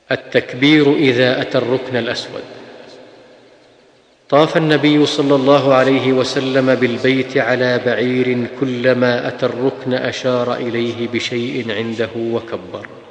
التكبير إذا أتى الركن الأسود. طاف النبي صلى الله عليه وسلم بالبيت على بعير، كلما أتى الركن أشار إليه بشيء عنده وكبر.